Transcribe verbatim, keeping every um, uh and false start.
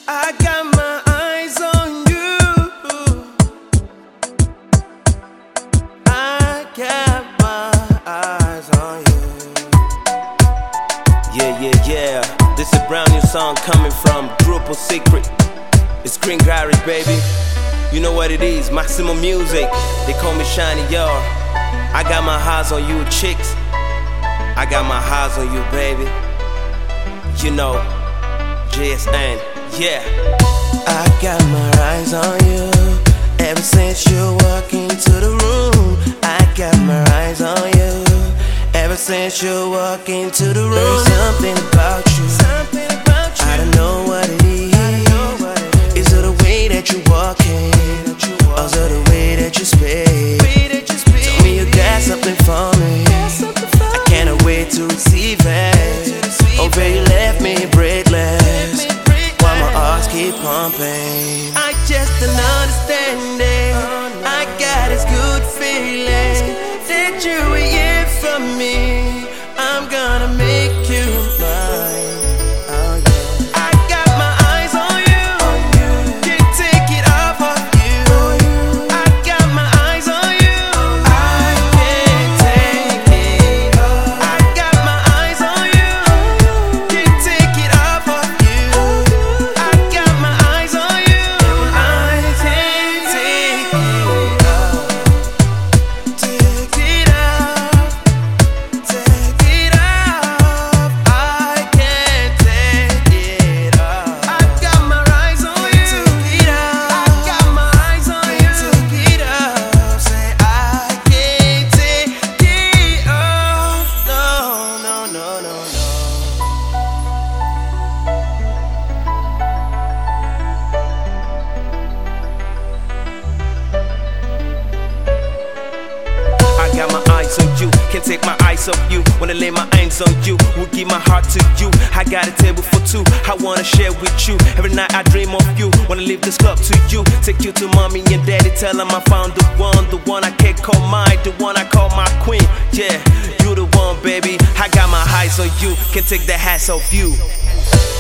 I got my eyes on you. I got my eyes on you. Yeah, yeah, yeah. This is a brand new song coming from Grupo Secret. It's Green Garage, baby. You know what it is, Maximum Music. They call me Shiny, y'all. I got my eyes on you, chicks. I got my eyes on you, baby. You know, J S N, yeah. I got my eyes on you. Ever since you walked into the room, I got my eyes on you. Ever since you walked into the room, there's something about you. Something about you. I don't know what it is. Is it the way that you walking, or is it the way that you speak? Tell me you got something for me. I cannot wait to receive it. Oh, baby, you left me breathless while my heart keep pumping. I just don't understand it. I got this good feeling that you were here for me. I'm gonna make you mine. Oh, yeah. I got my eyes on you. Can't take it off of you. I got my eyes on you. I can't take it off. I got my eyes on you. Can't take it off of you. I got my eyes on you. I can't take it off. Take it off. Take it off. I can't take it off. I got my eyes on you. Take it off. I got my eyes on you. Take it off. Say I can't take it off. No, no, no, no, no. I got my eyes on you, can't take my eyes off you. Wanna lay my hands on you, will give my heart to you. I got a table for two, I wanna share with you. Every night I dream of you, wanna leave this club to you. Take you to mommy and daddy, tell them I found the one. The one I can't call mine, the one I call my queen. Yeah, you the one, baby. I got my eyes on you, can't take the hats off you.